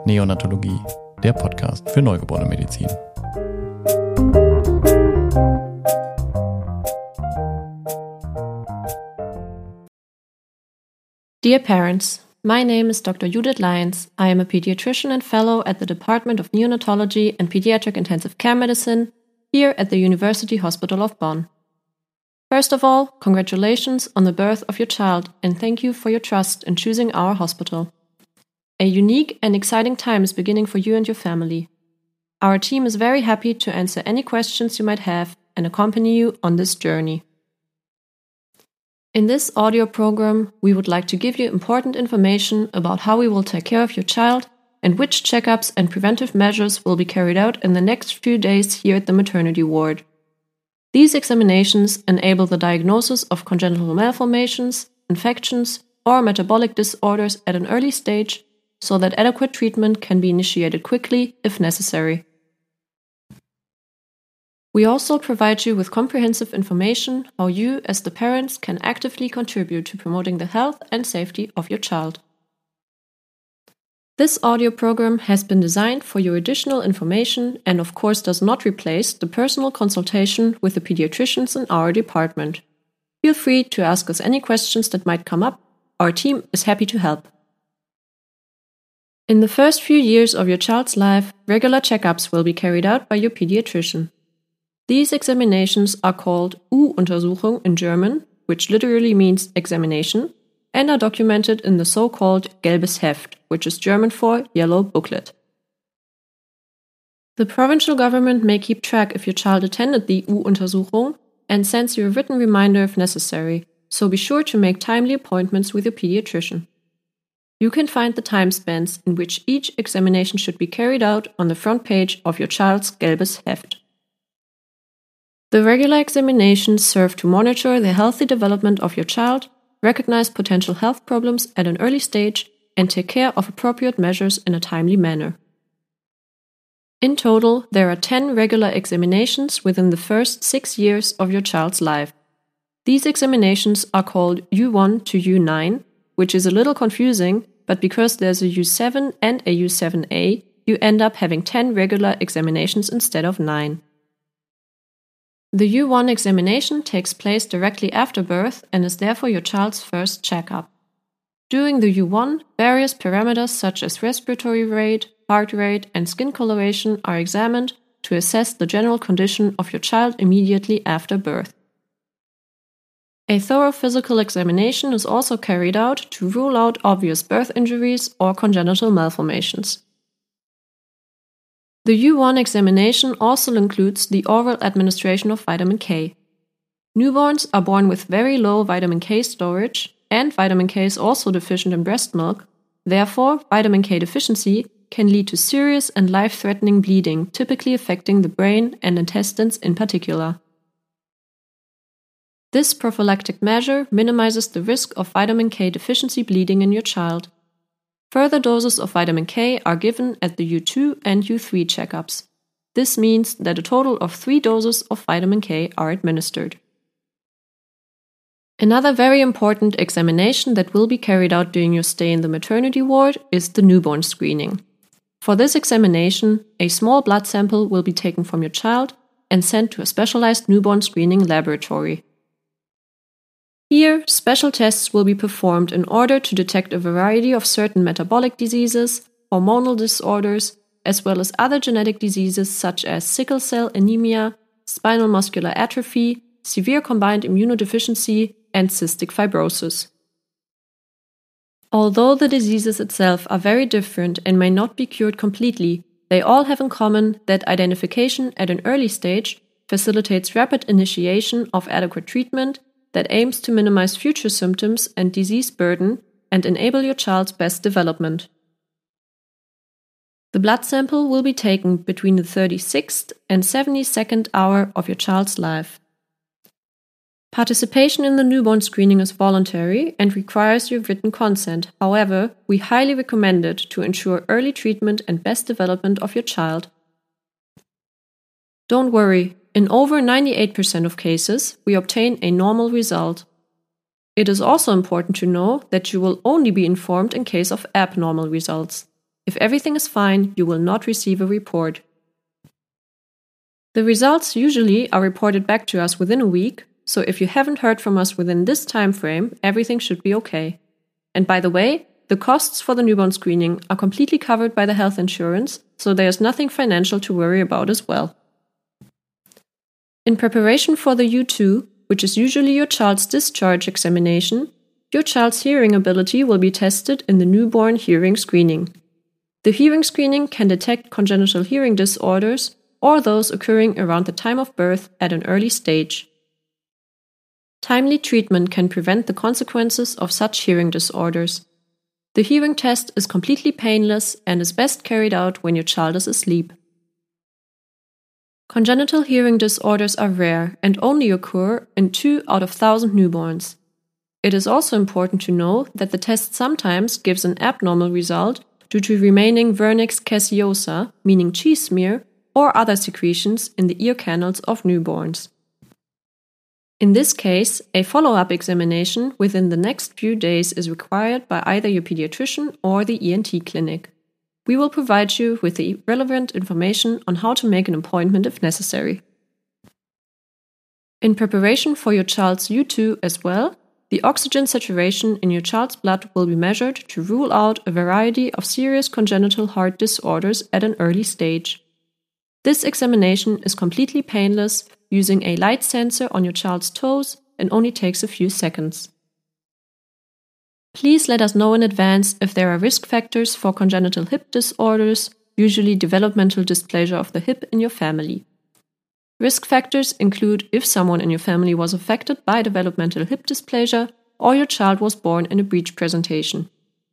Neonatologie, der Podcast für Neugeborenenmedizin. Dear parents, my name is Dr. Judith Lyons. I am a pediatrician and fellow at the Department of Neonatology and Pediatric Intensive Care Medicine here at the University Hospital of Bonn. First of all, congratulations on the birth of your child and thank you for your trust in choosing our hospital. A unique and exciting time is beginning for you and your family. Our team is very happy to answer any questions you might have and accompany you on this journey. In this audio program, we would like to give you important information about how we will take care of your child and which checkups and preventive measures will be carried out in the next few days here at the maternity ward. These examinations enable the diagnosis of congenital malformations, infections, or metabolic disorders at an early stage so that adequate treatment can be initiated quickly if necessary. We also provide you with comprehensive information how you, as the parents, can actively contribute to promoting the health and safety of your child. This audio program has been designed for your additional information and of course does not replace the personal consultation with the pediatricians in our department. Feel free to ask us any questions that might come up. Our team is happy to help. In the first few years of your child's life, regular checkups will be carried out by your pediatrician. These examinations are called U-Untersuchung in German, which literally means examination, and are documented in the so-called Gelbes Heft, which is German for yellow booklet. The provincial government may keep track if your child attended the U-Untersuchung and sends you a written reminder if necessary, so be sure to make timely appointments with your pediatrician. You can find the time spans in which each examination should be carried out on the front page of your child's Gelbes Heft. The regular examinations serve to monitor the healthy development of your child, recognize potential health problems at an early stage, and take care of appropriate measures in a timely manner. In total, there are 10 regular examinations within the first 6 years of your child's life. These examinations are called U1 to U9, which is a little confusing, but because there's a U7 and a U7A, you end up having 10 regular examinations instead of 9. The U1 examination takes place directly after birth and is therefore your child's first checkup. During the U1, various parameters such as respiratory rate, heart rate, and skin coloration are examined to assess the general condition of your child immediately after birth. A thorough physical examination is also carried out to rule out obvious birth injuries or congenital malformations. The U1 examination also includes the oral administration of vitamin K. Newborns are born with very low vitamin K storage, and vitamin K is also deficient in breast milk. Therefore, vitamin K deficiency can lead to serious and life-threatening bleeding, typically affecting the brain and intestines in particular. This prophylactic measure minimizes the risk of vitamin K deficiency bleeding in your child. Further doses of vitamin K are given at the U2 and U3 checkups. This means that a total of 3 doses of vitamin K are administered. Another very important examination that will be carried out during your stay in the maternity ward is the newborn screening. For this examination, a small blood sample will be taken from your child and sent to a specialized newborn screening laboratory. Here, special tests will be performed in order to detect a variety of certain metabolic diseases, hormonal disorders, as well as other genetic diseases such as sickle cell anemia, spinal muscular atrophy, severe combined immunodeficiency, and cystic fibrosis. Although the diseases itself are very different and may not be cured completely, they all have in common that identification at an early stage facilitates rapid initiation of adequate treatment that aims to minimize future symptoms and disease burden and enable your child's best development. The blood sample will be taken between the 36th and 72nd hour of your child's life. Participation in the newborn screening is voluntary and requires your written consent. However, we highly recommend it to ensure early treatment and best development of your child. Don't worry, in over 98% of cases, we obtain a normal result. It is also important to know that you will only be informed in case of abnormal results. If everything is fine, you will not receive a report. The results usually are reported back to us within a week, so if you haven't heard from us within this time frame, everything should be okay. And by the way, the costs for the newborn screening are completely covered by the health insurance, so there's nothing financial to worry about as well. In preparation for the U2, which is usually your child's discharge examination, your child's hearing ability will be tested in the newborn hearing screening. The hearing screening can detect congenital hearing disorders or those occurring around the time of birth at an early stage. Timely treatment can prevent the consequences of such hearing disorders. The hearing test is completely painless and is best carried out when your child is asleep. Congenital hearing disorders are rare and only occur in 2 out of 1,000 newborns. It is also important to know that the test sometimes gives an abnormal result due to remaining vernix caseosa, meaning cheese smear, or other secretions in the ear canals of newborns. In this case, a follow-up examination within the next few days is required by either your pediatrician or the ENT clinic. We will provide you with the relevant information on how to make an appointment if necessary. In preparation for your child's U2 as well, the oxygen saturation in your child's blood will be measured to rule out a variety of serious congenital heart disorders at an early stage. This examination is completely painless, using a light sensor on your child's toes, and only takes a few seconds. Please let us know in advance if there are risk factors for congenital hip disorders, usually developmental dysplasia of the hip in your family. Risk factors include if someone in your family was affected by developmental hip dysplasia or your child was born in a breech presentation.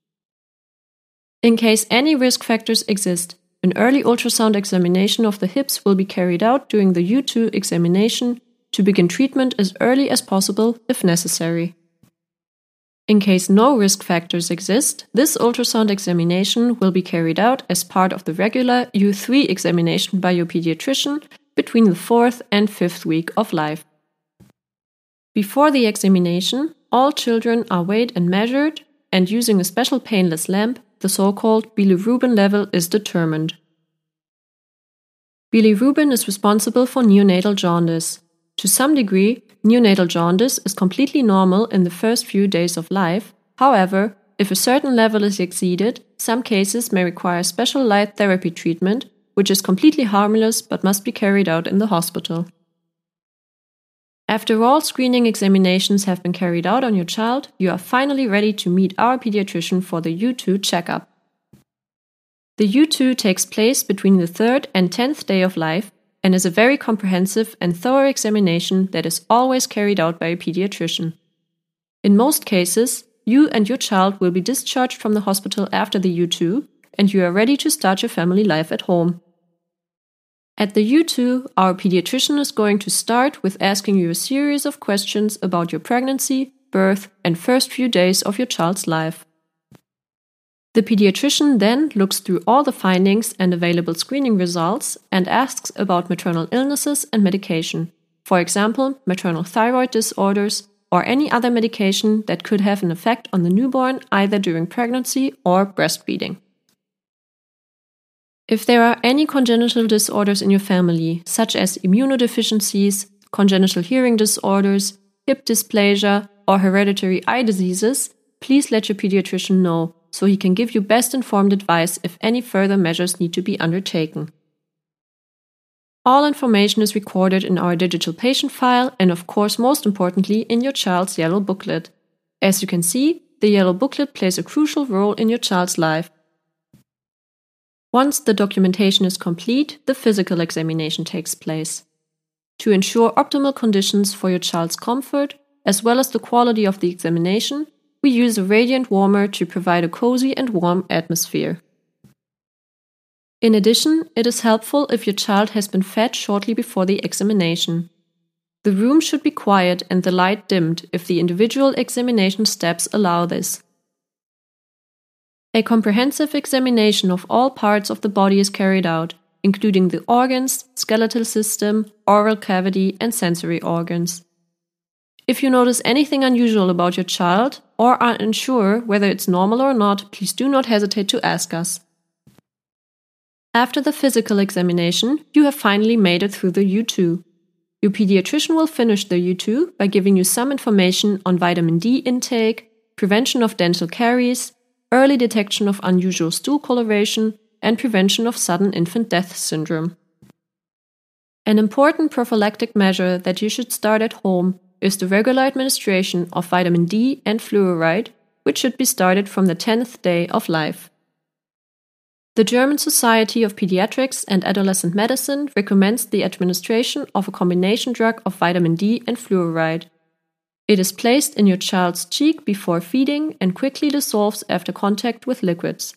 In case any risk factors exist, an early ultrasound examination of the hips will be carried out during the U2 examination to begin treatment as early as possible if necessary. In case no risk factors exist, this ultrasound examination will be carried out as part of the regular U3 examination by your pediatrician between the 4th and 5th week of life. Before the examination, all children are weighed and measured, and using a special painless lamp, the so-called bilirubin level is determined. Bilirubin is responsible for neonatal jaundice. To some degree, neonatal jaundice is completely normal in the first few days of life. However, if a certain level is exceeded, some cases may require special light therapy treatment, which is completely harmless but must be carried out in the hospital. After all screening examinations have been carried out on your child, you are finally ready to meet our pediatrician for the U2 checkup. The U2 takes place between the 3rd and 10th day of life and is a very comprehensive and thorough examination that is always carried out by a pediatrician. In most cases, you and your child will be discharged from the hospital after the U2, and you are ready to start your family life at home. At the U2, our pediatrician is going to start with asking you a series of questions about your pregnancy, birth, and first few days of your child's life. The pediatrician then looks through all the findings and available screening results and asks about maternal illnesses and medication, for example, maternal thyroid disorders or any other medication that could have an effect on the newborn either during pregnancy or breastfeeding. If there are any congenital disorders in your family, such as immunodeficiencies, congenital hearing disorders, hip dysplasia, or hereditary eye diseases, please let your pediatrician know so he can give you best informed advice if any further measures need to be undertaken. All information is recorded in our digital patient file and, of course, most importantly, in your child's yellow booklet. As you can see, the yellow booklet plays a crucial role in your child's life. Once the documentation is complete, the physical examination takes place. To ensure optimal conditions for your child's comfort, as well as the quality of the examination, we use a radiant warmer to provide a cozy and warm atmosphere. In addition, it is helpful if your child has been fed shortly before the examination. The room should be quiet and the light dimmed if the individual examination steps allow this. A comprehensive examination of all parts of the body is carried out, including the organs, skeletal system, oral cavity, and sensory organs. If you notice anything unusual about your child or are unsure whether it's normal or not, please do not hesitate to ask us. After the physical examination, you have finally made it through the U2. Your pediatrician will finish the U2 by giving you some information on vitamin D intake, prevention of dental caries, early detection of unusual stool coloration, and prevention of sudden infant death syndrome. An important prophylactic measure that you should start at home is the regular administration of vitamin D and fluoride, which should be started from the 10th day of life. The German Society of Pediatrics and Adolescent Medicine recommends the administration of a combination drug of vitamin D and fluoride. It is placed in your child's cheek before feeding and quickly dissolves after contact with liquids.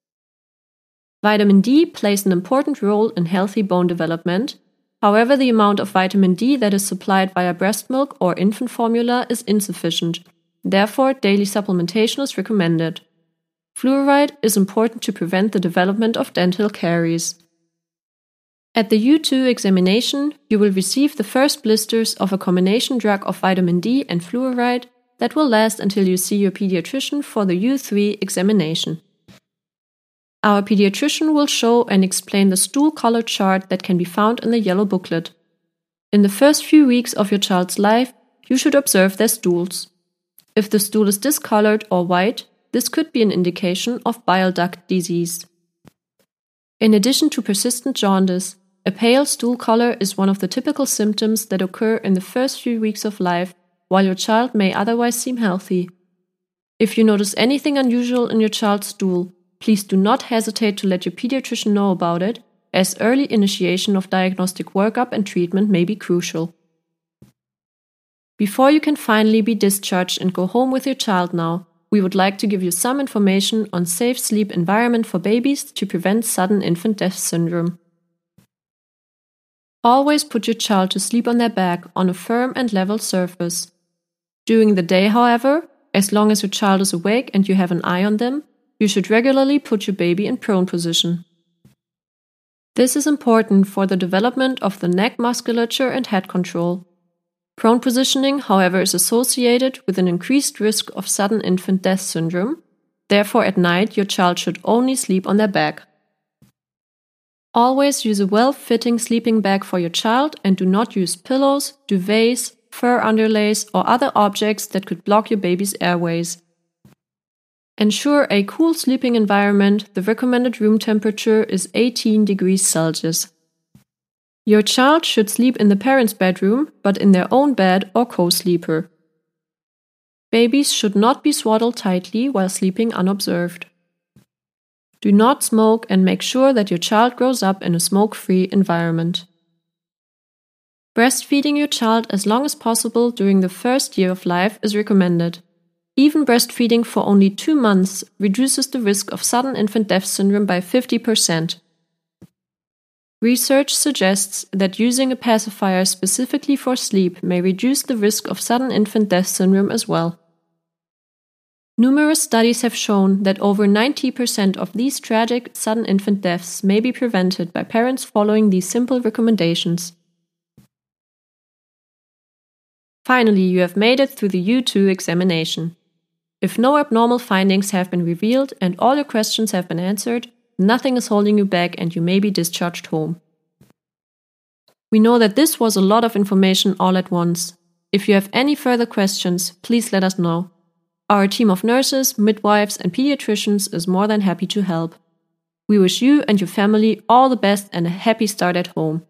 Vitamin D plays an important role in healthy bone development. However, the amount of vitamin D that is supplied via breast milk or infant formula is insufficient. Therefore, daily supplementation is recommended. Fluoride is important to prevent the development of dental caries. At the U2 examination, you will receive the first blisters of a combination drug of vitamin D and fluoride that will last until you see your pediatrician for the U3 examination. Our pediatrician will show and explain the stool color chart that can be found in the yellow booklet. In the first few weeks of your child's life, you should observe their stools. If the stool is discolored or white, this could be an indication of bile duct disease. In addition to persistent jaundice, a pale stool color is one of the typical symptoms that occur in the first few weeks of life, while your child may otherwise seem healthy. If you notice anything unusual in your child's stool, please do not hesitate to let your pediatrician know about it, as early initiation of diagnostic workup and treatment may be crucial. Before you can finally be discharged and go home with your child now, we would like to give you some information on safe sleep environment for babies to prevent sudden infant death syndrome. Always put your child to sleep on their back on a firm and level surface. During the day, however, as long as your child is awake and you have an eye on them, you should regularly put your baby in prone position. This is important for the development of the neck musculature and head control. Prone positioning, however, is associated with an increased risk of sudden infant death syndrome. Therefore, at night, your child should only sleep on their back. Always use a well-fitting sleeping bag for your child and do not use pillows, duvets, fur underlays, or other objects that could block your baby's airways. Ensure a cool sleeping environment. The recommended room temperature is 18 degrees Celsius. Your child should sleep in the parent's bedroom, but in their own bed or co-sleeper. Babies should not be swaddled tightly while sleeping unobserved. Do not smoke and make sure that your child grows up in a smoke-free environment. Breastfeeding your child as long as possible during the first year of life is recommended. Even breastfeeding for only 2 months reduces the risk of sudden infant death syndrome by 50%. Research suggests that using a pacifier specifically for sleep may reduce the risk of sudden infant death syndrome as well. Numerous studies have shown that over 90% of these tragic sudden infant deaths may be prevented by parents following these simple recommendations. Finally, you have made it through the U2 examination. If no abnormal findings have been revealed and all your questions have been answered, nothing is holding you back and you may be discharged home. We know that this was a lot of information all at once. If you have any further questions, please let us know. Our team of nurses, midwives, and pediatricians is more than happy to help. We wish you and your family all the best and a happy start at home.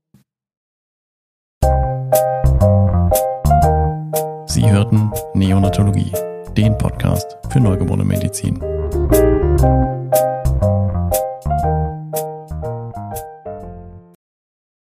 Sie hörten Neonatologie, den Podcast für Neugeborene Medizin.